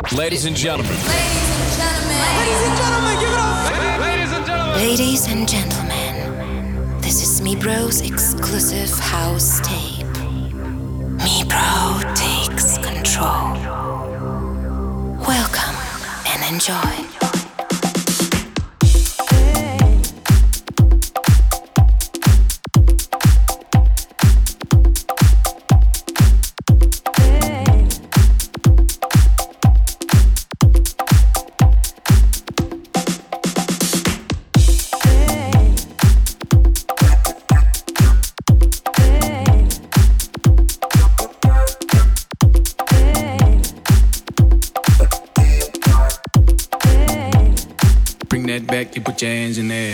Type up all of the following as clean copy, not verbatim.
Ladies and gentlemen. Ladies and gentlemen, give it up. Ladies and gentlemen. Ladies and gentlemen, this is Me Bro's exclusive house tape. Me Bro takes control. Welcome and enjoy. Back, you put your hands in there.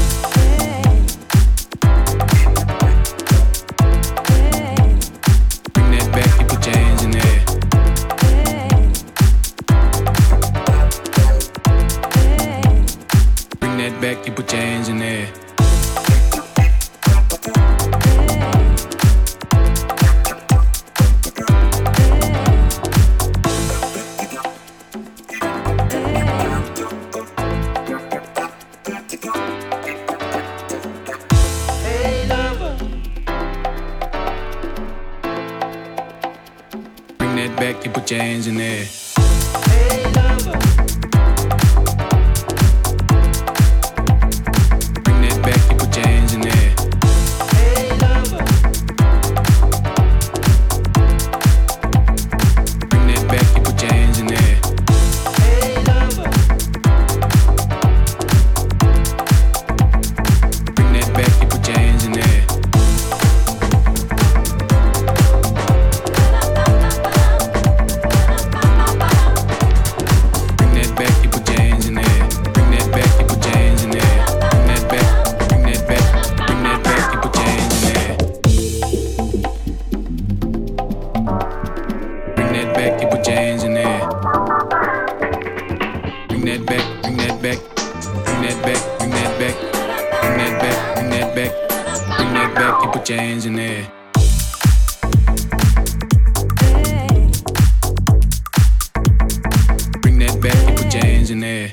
Bring that back, you put your hands in there. Bring that back, you put your hands in there. Back, you put your hands in there. Hey, lover. Bring that back, you put your hands in there. Hey, lover. Bring that back, you put your hands in there. Hey, lover. Bring that back, you put your hands in there. Put your hands in there. Bring that back, you put your hands in there.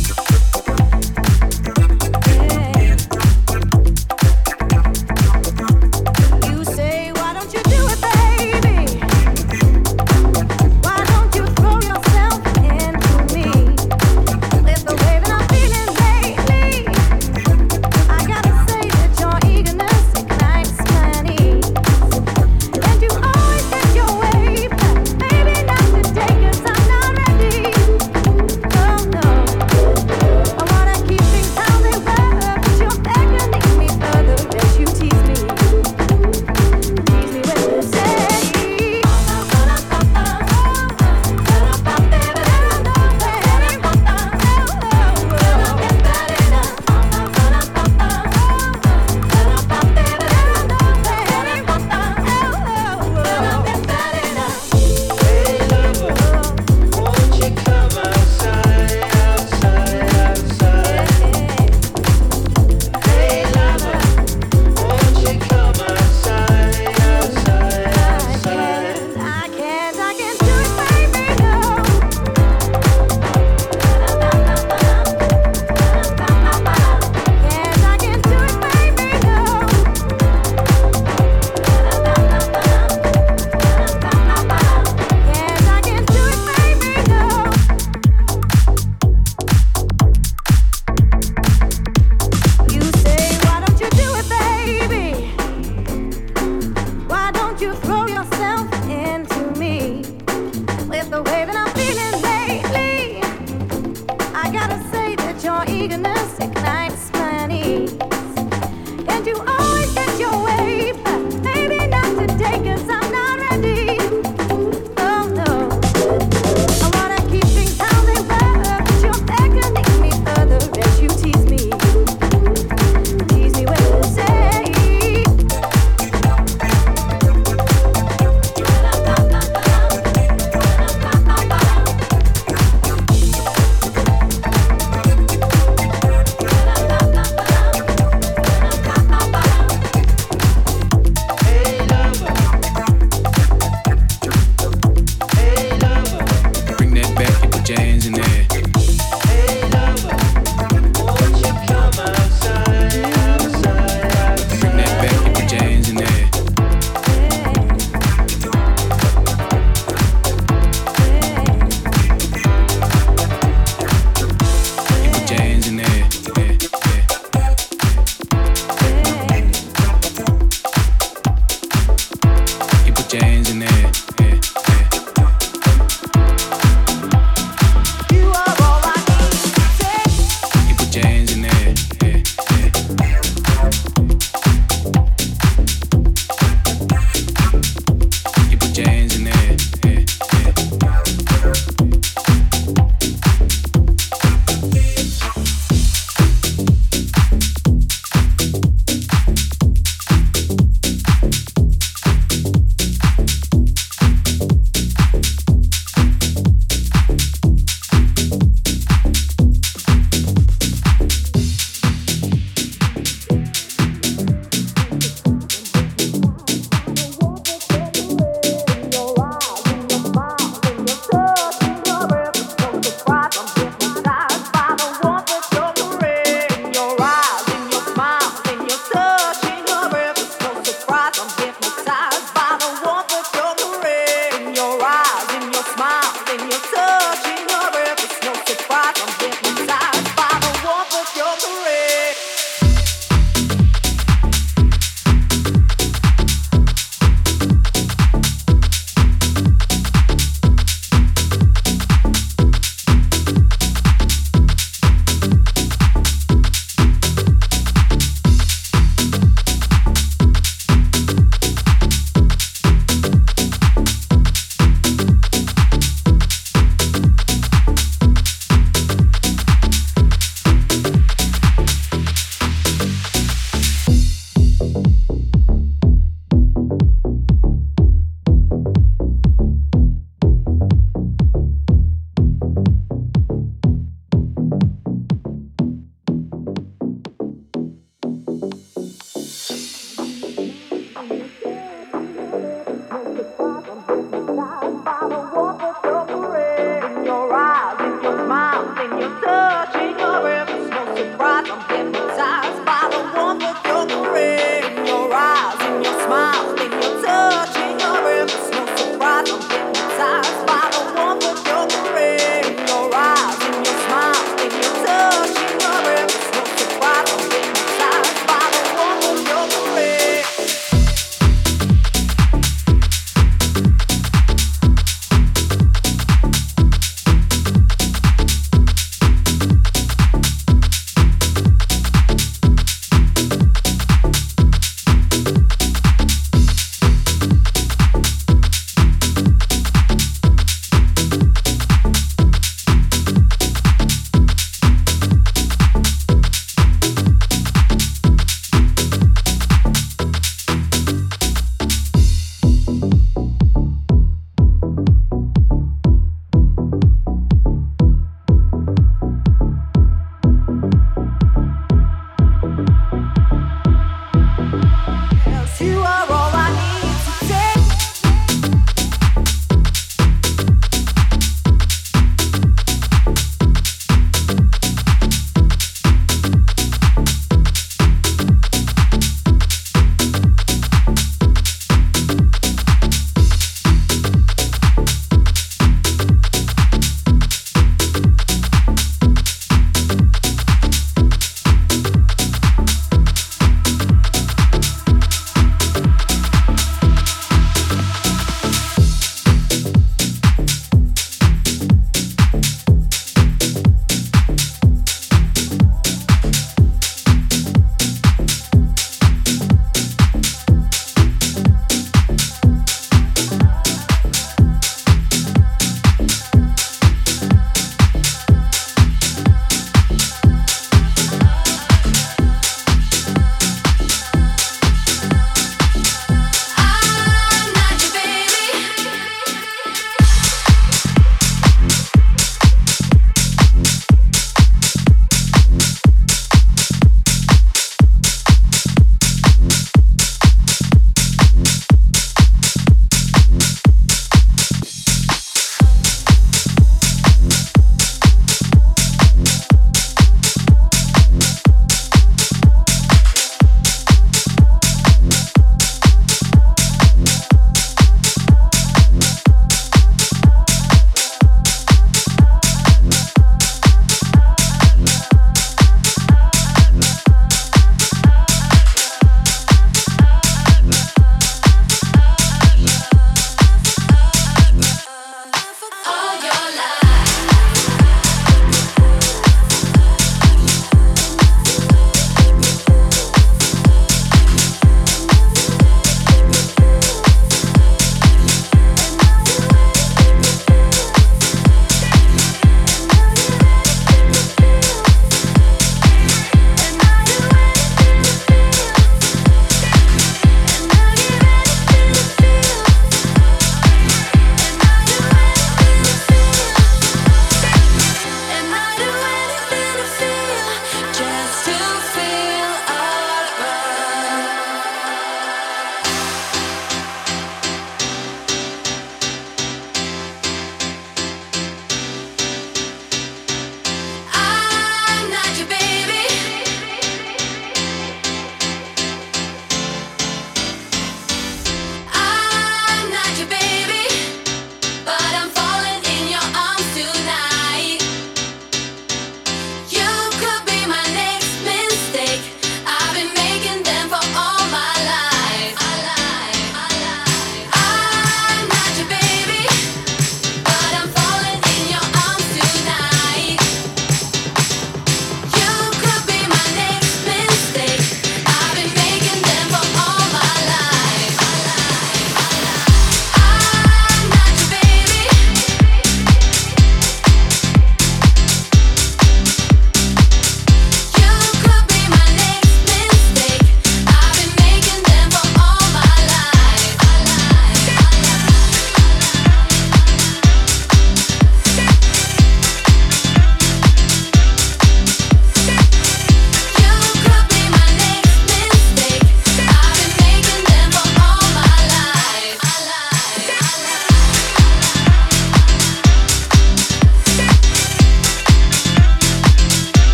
You say, why don't you do it, baby? Why don't you throw yourself into me? With the way that I'm feeling lately, I gotta say that your eagerness ignites my needs. And you always get your way, but maybe not today 'cause I'm not ready. Oh no, I wanna keep things how they were, but you're beckoning me further as you tease me. Tease me when you say, I can't do it, baby, no. I can't do it, baby, no. I can't do it, baby, no. You say, why don't you do it, baby? Why don't you throw yourself into me? With the way that I'm feeling lately, I gotta say that your eagerness ignites my needs. And you always get your way, but maybe not today 'cause I'm not ready. Oh no, I wanna keep things how they were, but you're beckoning me further as you tease me. Tease me when you say,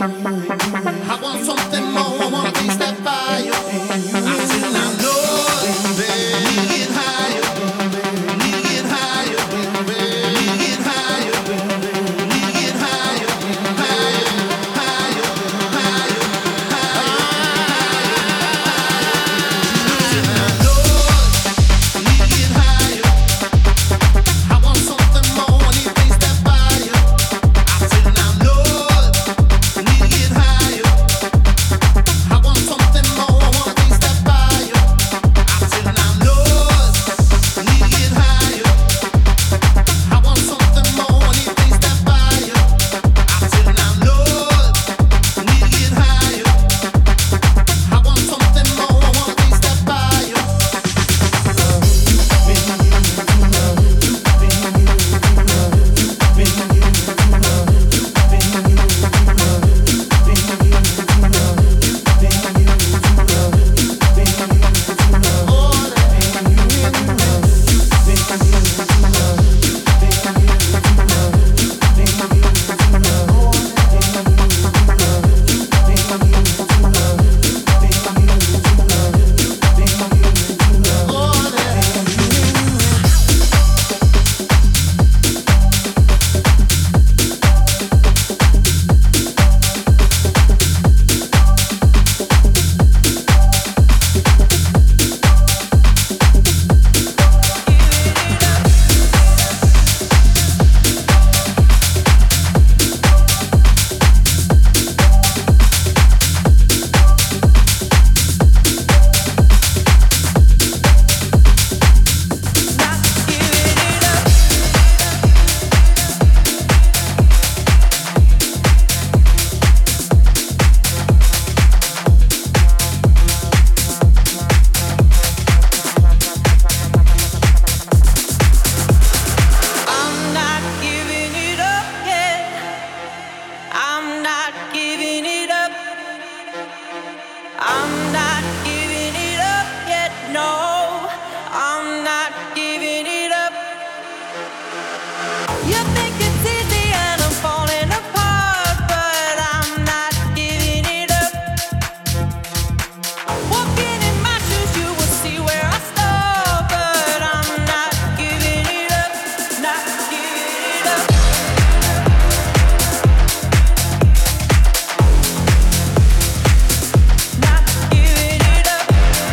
I want something more, I wanna taste that fire. I said I'm Lord, baby, need to get higher, need to get higher, baby, need to get higher, need to get higher, higher, higher, higher, higher. I'm Lord, need to get higher. I want something more, I need to taste that fire. I said I'm Lord, need to get higher. I want something more, I wanna taste that fire. I said I'm Lord, need to get higher. I want something more, I need to taste that fire. I said I'm Lord, need to get higher. I want something more, I wanna taste that fire. I'm not giving it up yet. I'm not giving it up. I'm not giving it up yet. No, I'm not giving it up. You think it's easy and I'm falling apart, but I'm not giving it up. Walking in my shoes, you will see where I start, but I'm not giving it up. Not giving it up. Not giving it up.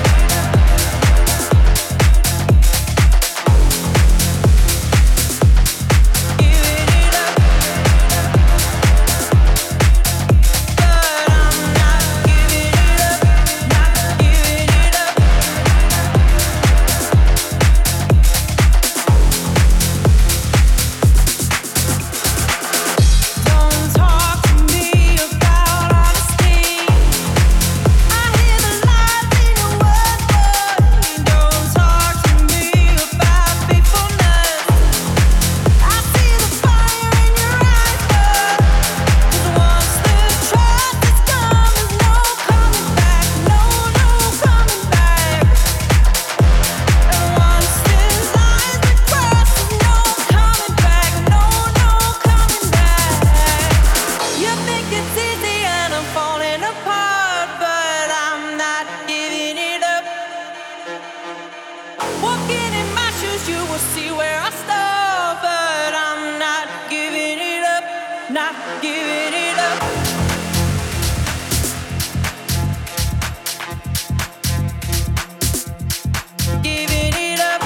not giving it up. Giving it up.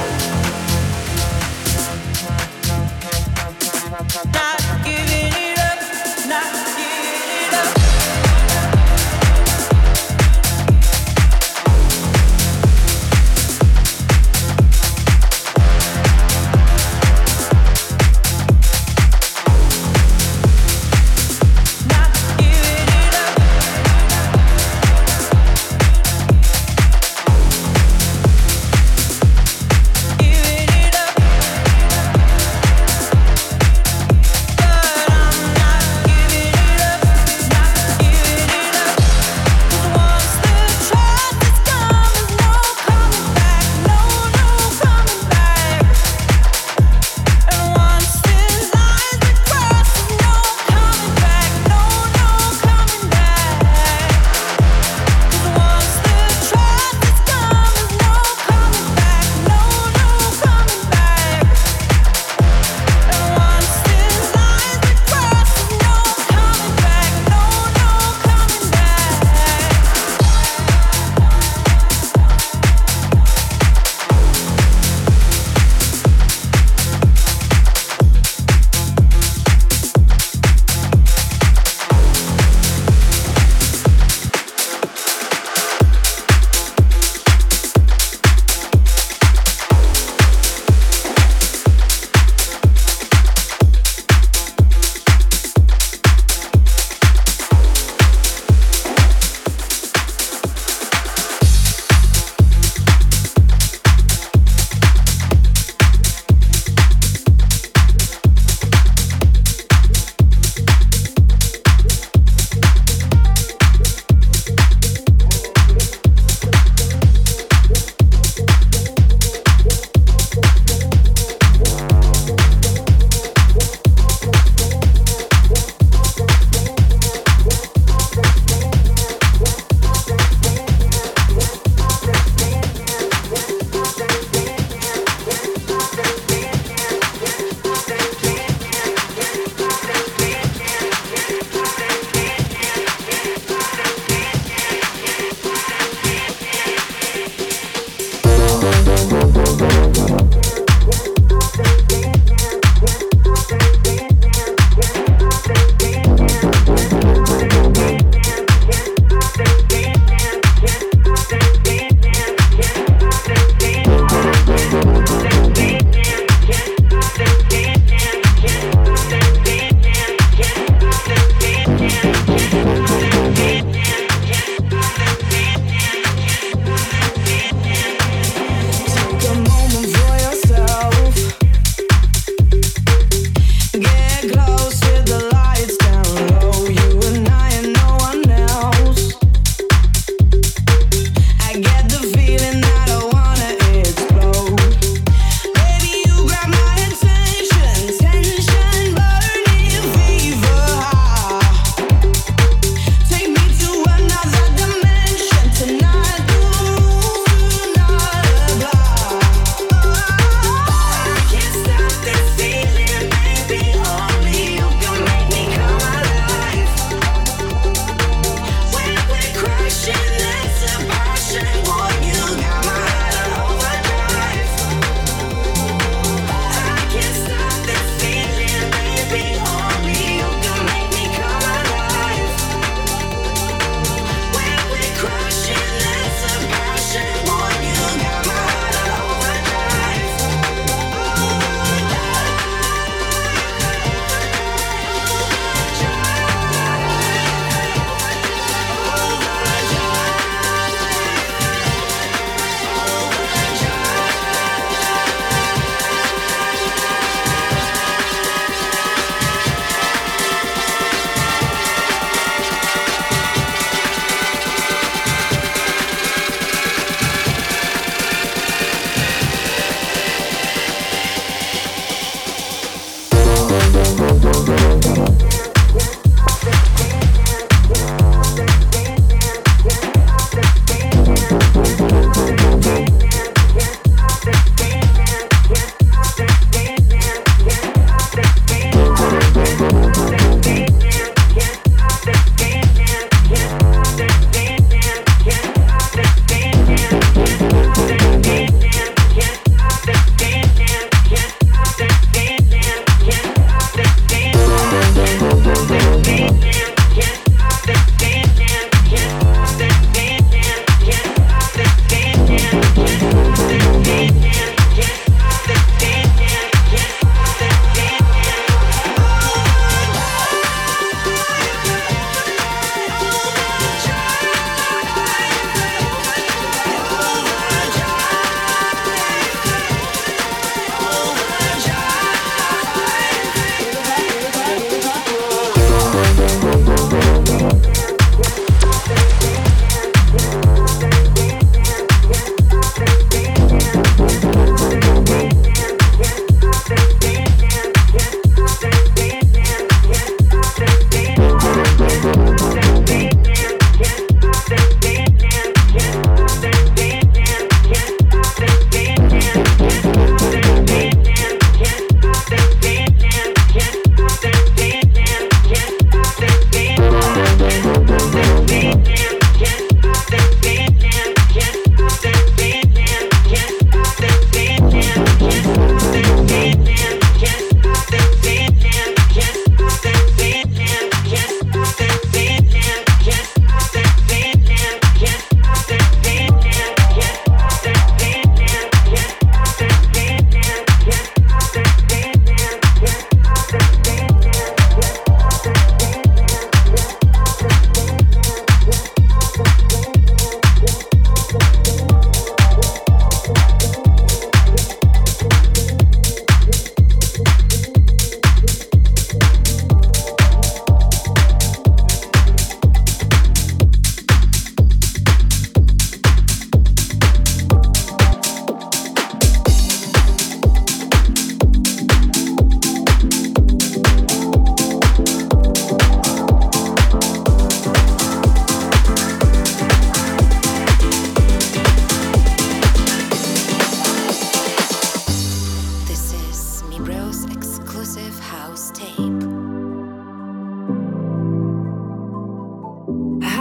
Not giving it up. Not giving it up.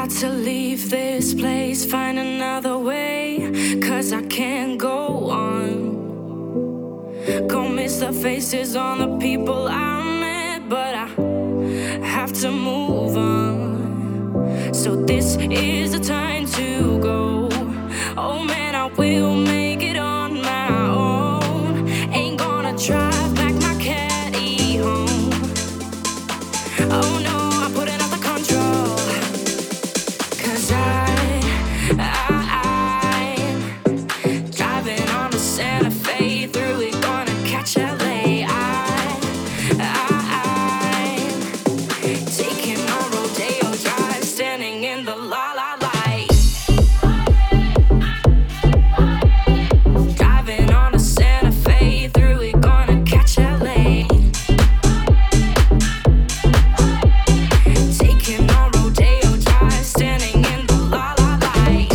Got to leave this place, find another way, 'cause I can't go on. Go miss the faces on the people I met, but I have to move on. So this is the time to go. Oh man, I will make it on my own. Ain't gonna drive back my caddy home. Oh no, I'm putting out the control. 'Cause I'm driving on the Santa Fe, through it gonna catch LA. I'm taking on Rodeo Drive, standing in the la la light. Driving on the Santa Fe, through it gonna catch LA. Taking on Rodeo Drive, standing in the la la light.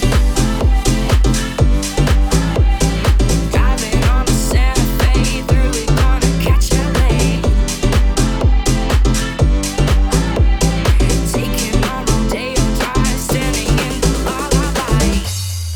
Driving on the Santa Fe, through it gonna catch LA. Taking on Rodeo Drive, standing in the la la light.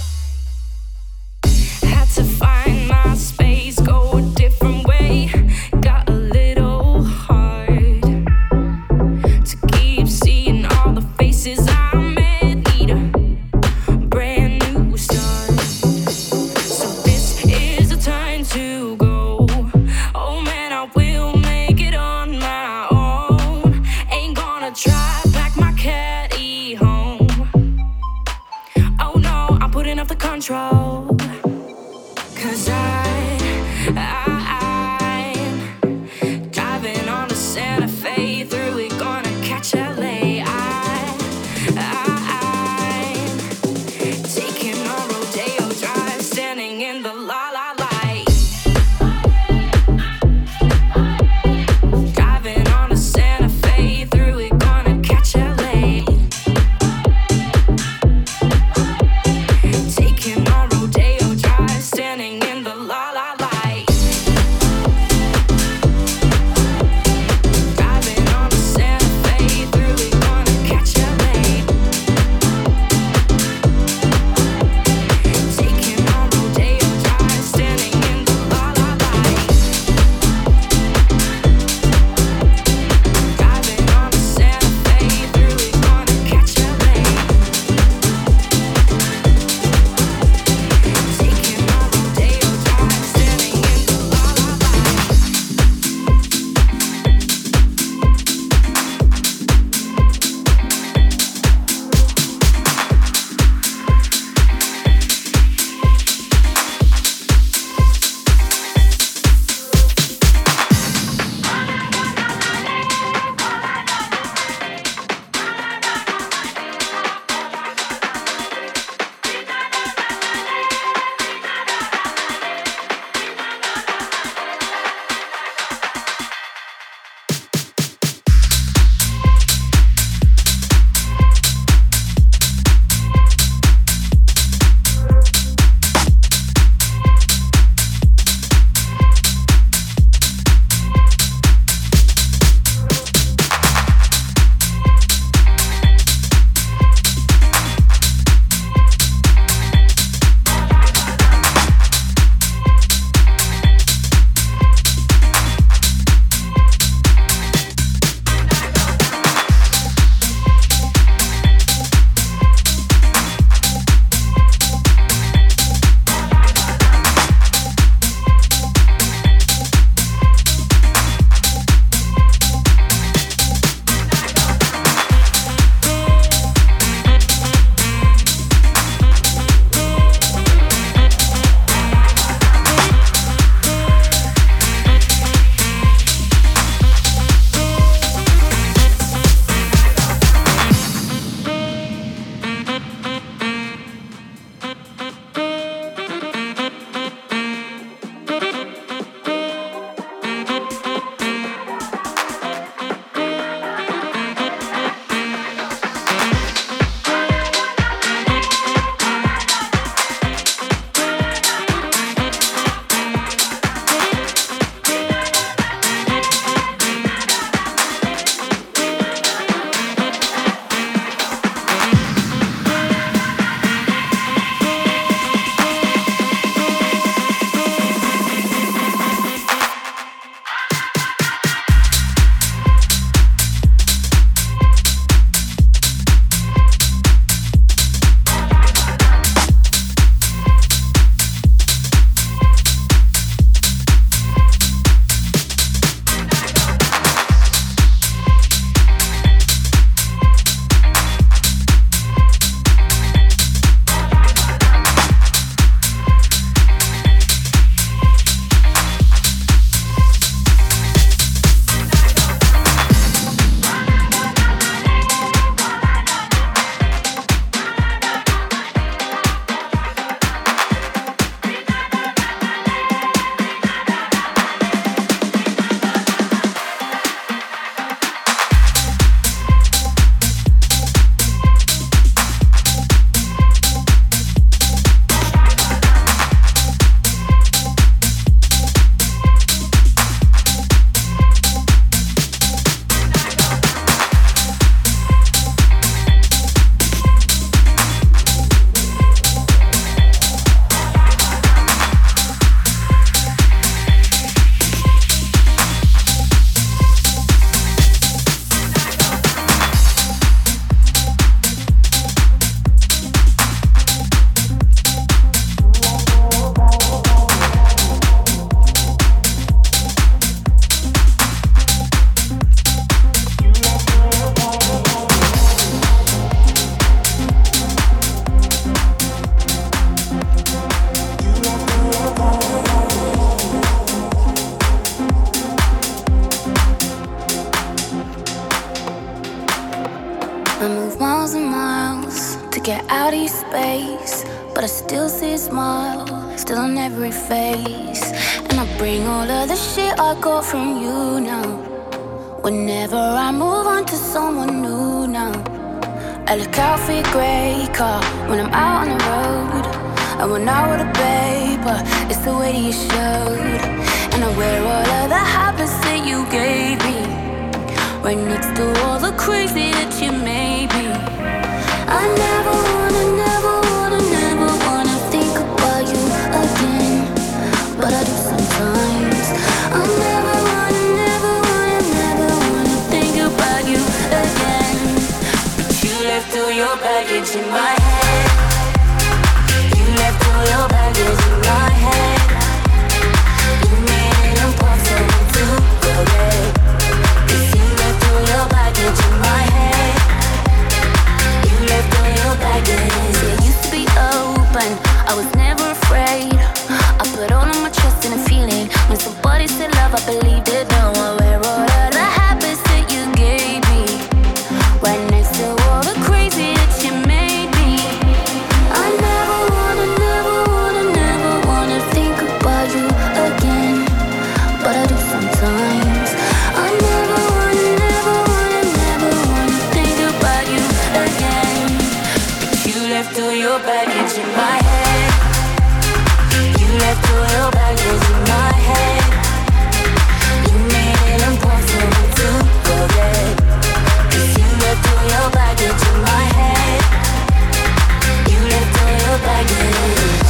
Had to find my space, go a different way. Got a little hard to keep seeing all the faces I met. Need a brand new start. So this is the time to go. Oh man, I will make it on my own. Ain't gonna drive back my caddy home. Oh no, I'm putting up the control. 'Cause I'm driving on the Santa Fe, through it gonna catch LA. I'm taking on Rodeo Drive, standing in the la la light. Driving on the Santa Fe, through it gonna catch LA. Taking on I move miles and miles to get out of your space, but I still see a smile, still on every face. And I bring all of the shit I got from you now. Whenever I move on to someone new now, I look out for your grey car when I'm out on the road. I went out with a paper, it's the way that you showed. And I wear all of the habits that you gave me, right next to all the crazy that you made me. I never wanna, never wanna, never wanna think about you again, but I do sometimes. I never wanna, never wanna, never wanna think about you again. But you left all your baggage in my head. You left all your baggage in my head. You made it impossible to forget. You left all your baggage in my head. You left all your baggage. It used to be open, I was never afraid. I put all of my trust in a feeling. When somebody said love, I believed it. Now I wear all of the habits that you gave me, right next to all the crazy that you made me. I never wanna, never wanna, never wanna think about you again, but I do sometimes. I never wanna, never wanna, never wanna think about you again. But you left all your baggage in my head. You left all your baggage in my head. You made it impossible to forget. 'Cause you left all your baggage in my head. You left all your baggage.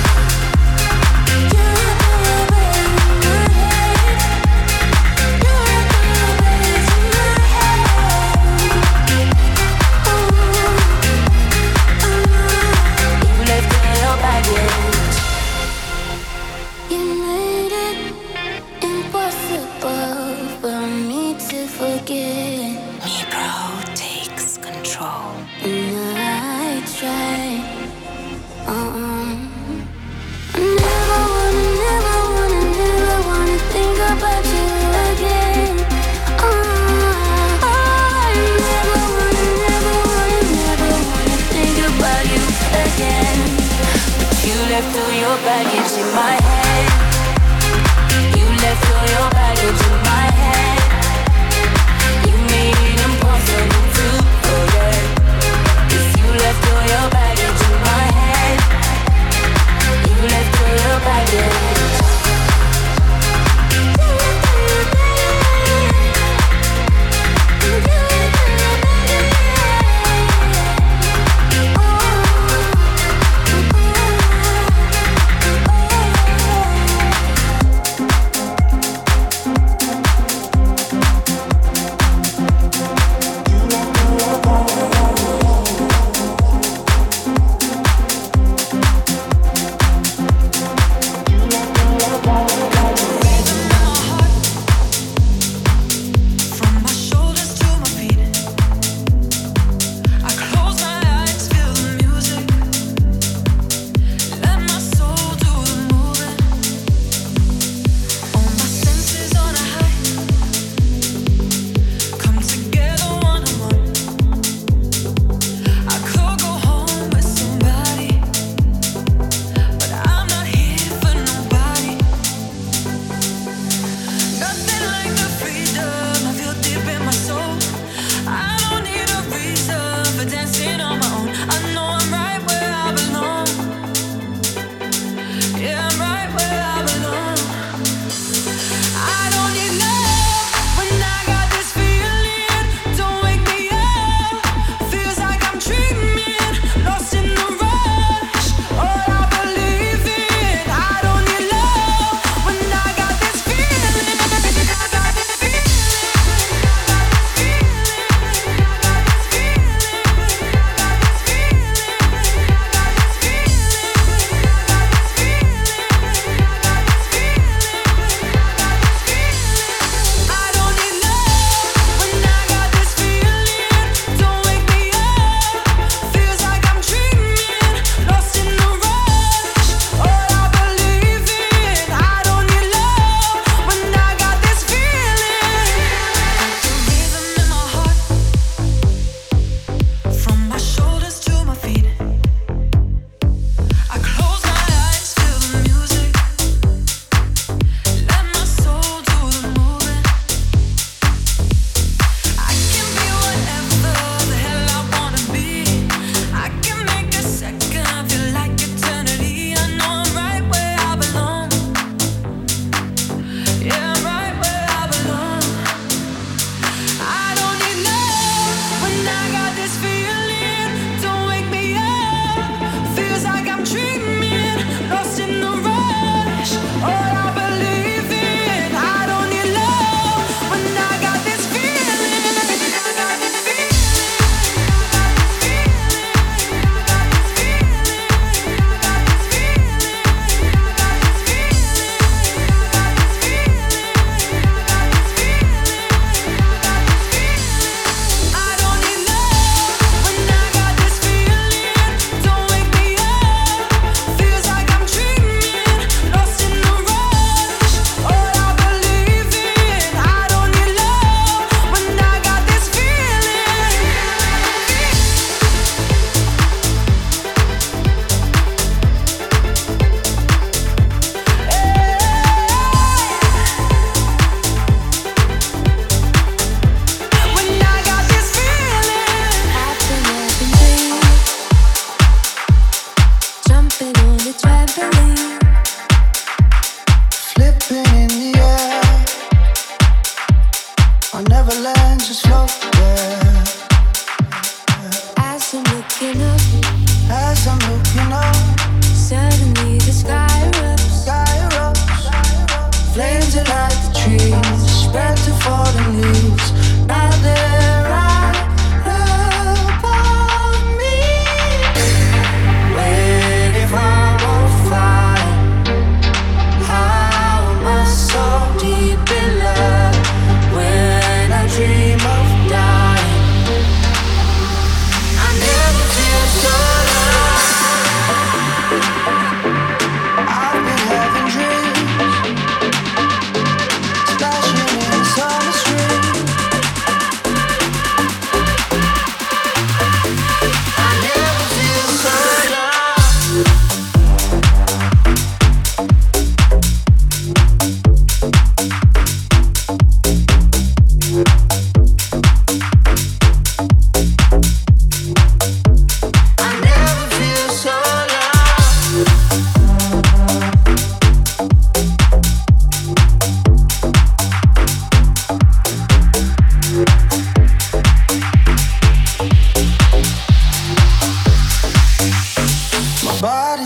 You left all your baggage in my head. You left all your baggage in my head. You left all your baggage. You made it impossible for me to forget. Me bro takes control. And I try. Never wanna, never wanna, never wanna think about you again. I never wanna, never wanna, never wanna think about you again. But you left all your baggage in my head. You left all your baggage in my head. You made it impossible to forget. 'Cause you left all your baggage in my head. You left all your baggage. You left all your baggage. You left all your baggage.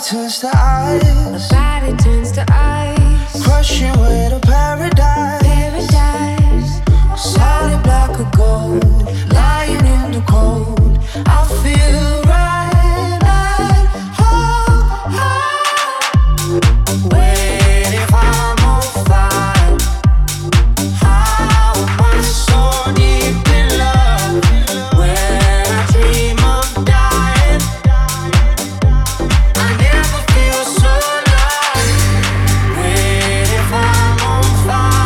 turns to ice. My body turns to ice. Crushing with a paradise. Paradise. Solid black of gold. Lying in the cold. I feel right at home. Wait, if I'm on fire, how am I so deep in love? When I dream of dying, I never feel so alive. Wait, if I'm on fire.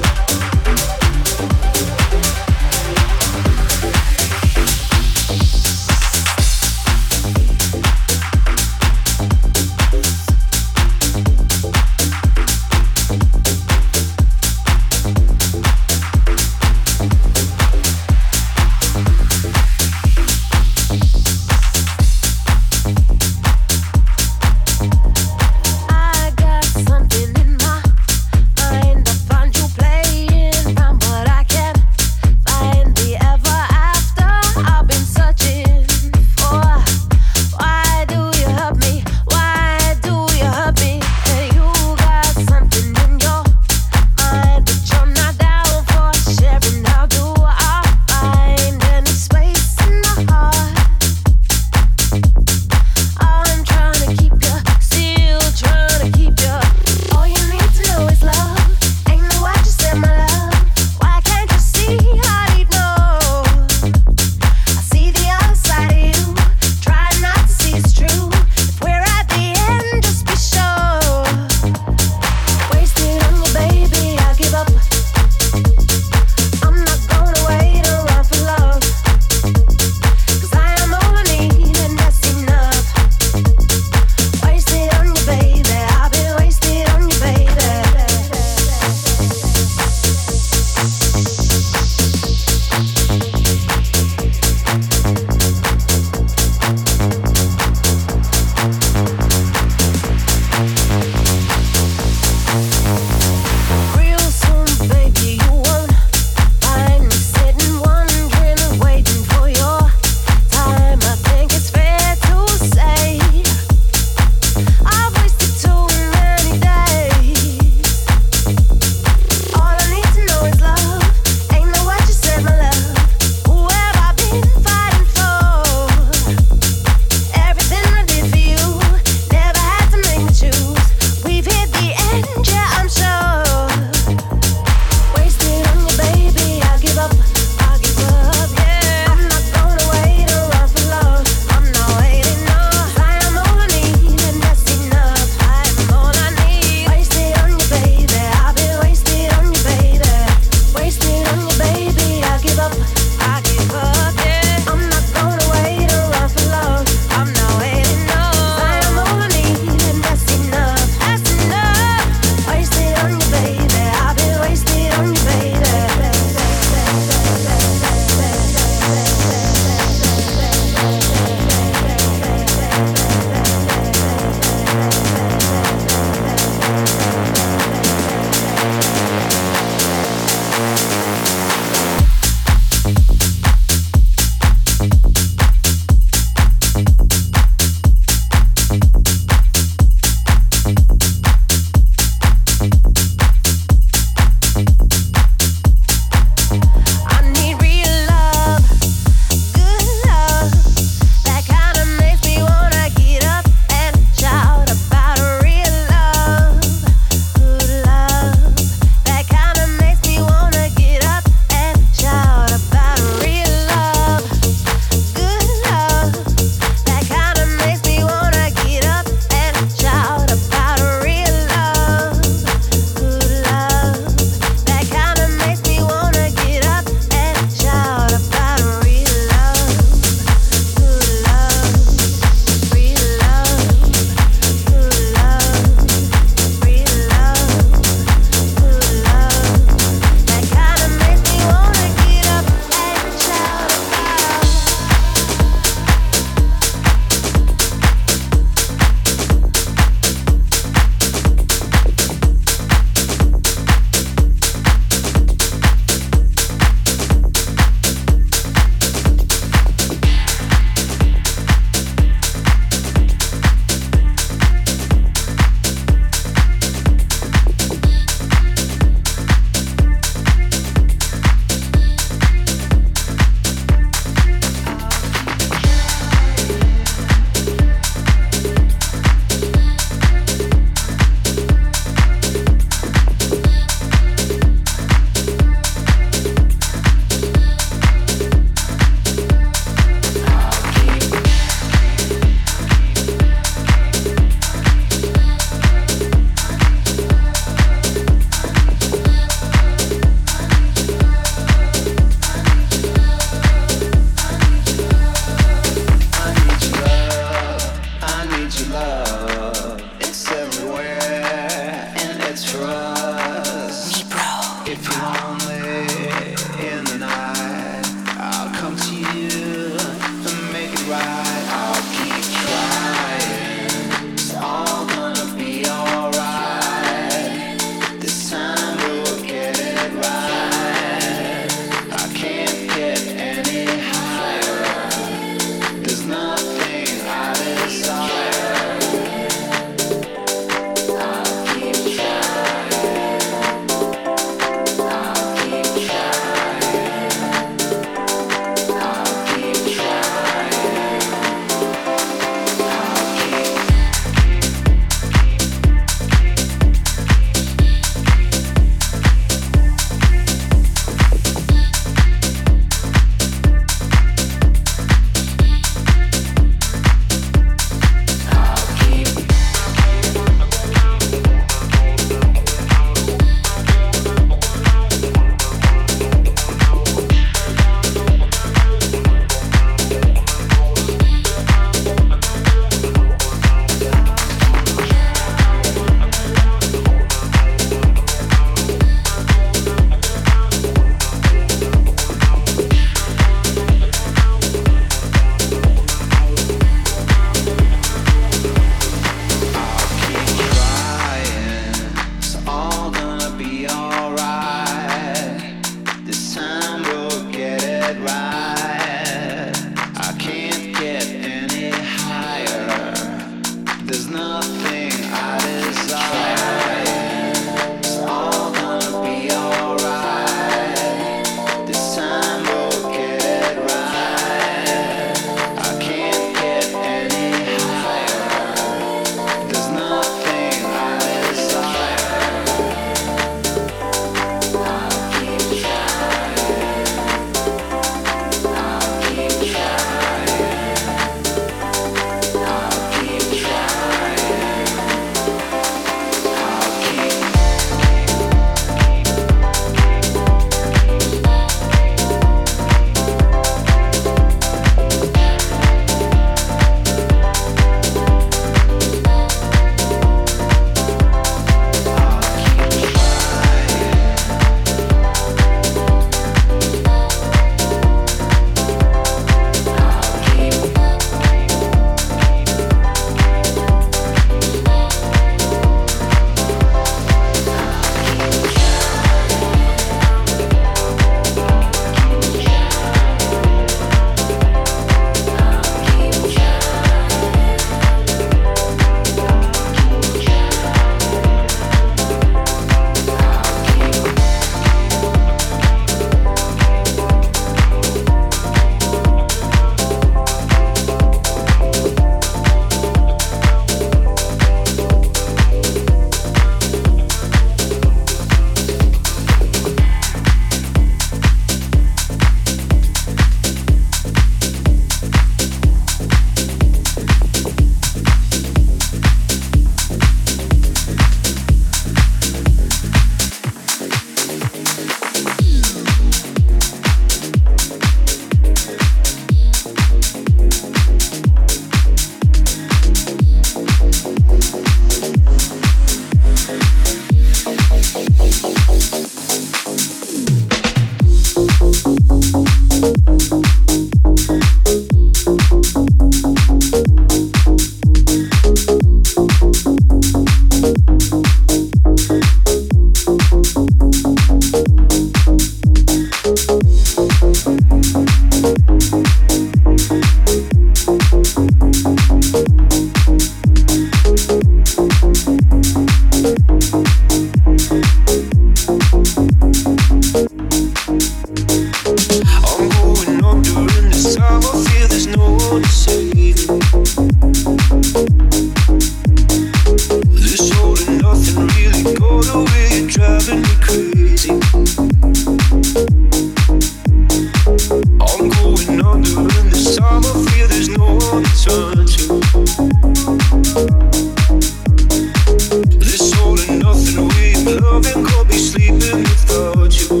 loving could be sleeping without you.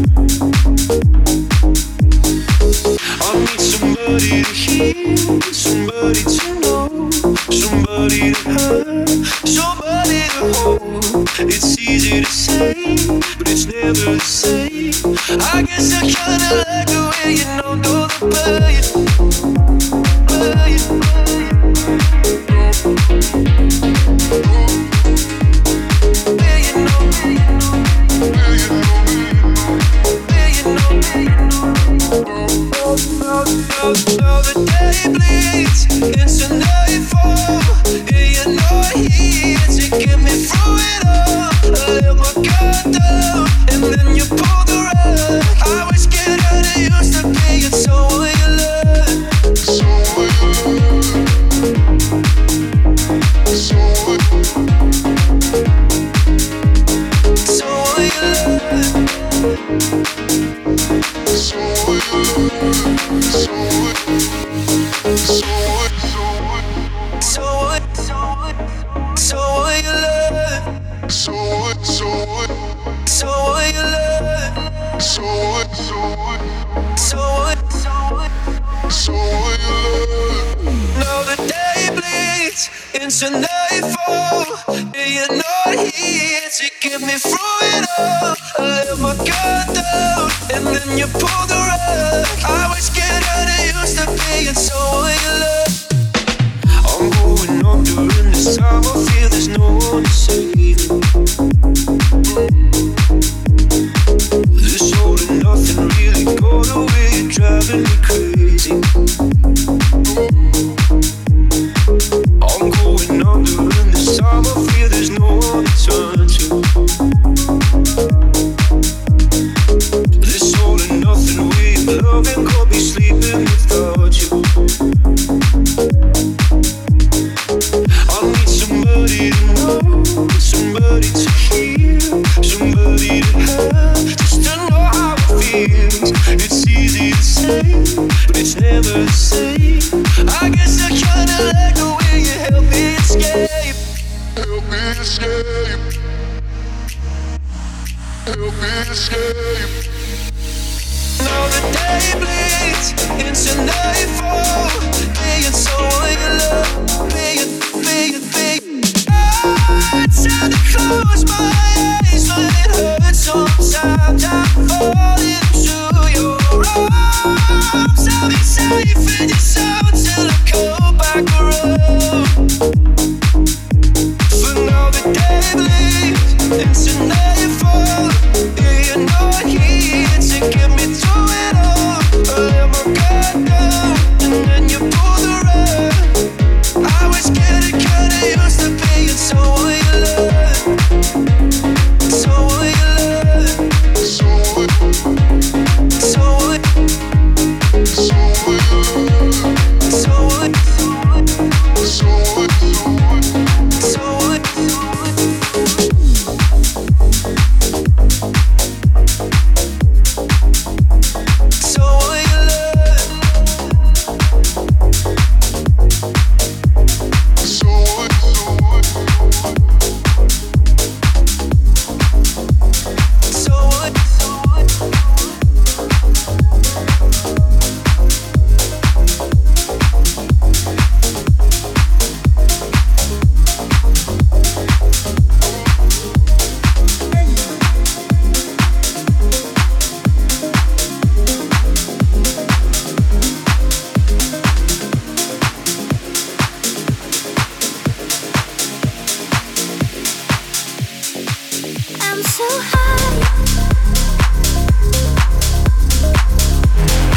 I need somebody to hear, somebody to know, somebody to have, somebody to hold. It's easy to say, but it's never the same. I guess I kinda like the way you know the pain. Now the day bleeds into nightfall, and you're not here to get me through it all. I let my guard down, and then you pulled the rug. I was getting used to being someone you love. Someone you love. Someone you love. Now the day bleeds into nightfall, and you're not here to get me through it all. I let my guard down, and then you pulled the rug. I was getting used to being someone you love. I'm going up during this time. I feel there's no one to save me. This all and nothing really got away. You're driving me crazy. I'm going up during this time. I feel there's no one to turn to. This all and nothing way of loving could be sleeping without you. I need somebody to know, somebody to hear, somebody to have, just to know how it feels. It's easy to say, but it's never the same. I guess I kinda like the way you help me escape. Help me escape. Help me escape. Now the day bleeds into nightfall, being someone you love, being. It's time to close my eyes when it hurts. Sometimes I fall into your arms. I'll be safe in your soul till I come back around. For now the day bleeds into nightfall, and you're not here to get me through it all. I let my guard down, and then you pull the rug. I was getting kinda used to being someone you love. Someone you love. Someone I'm so high.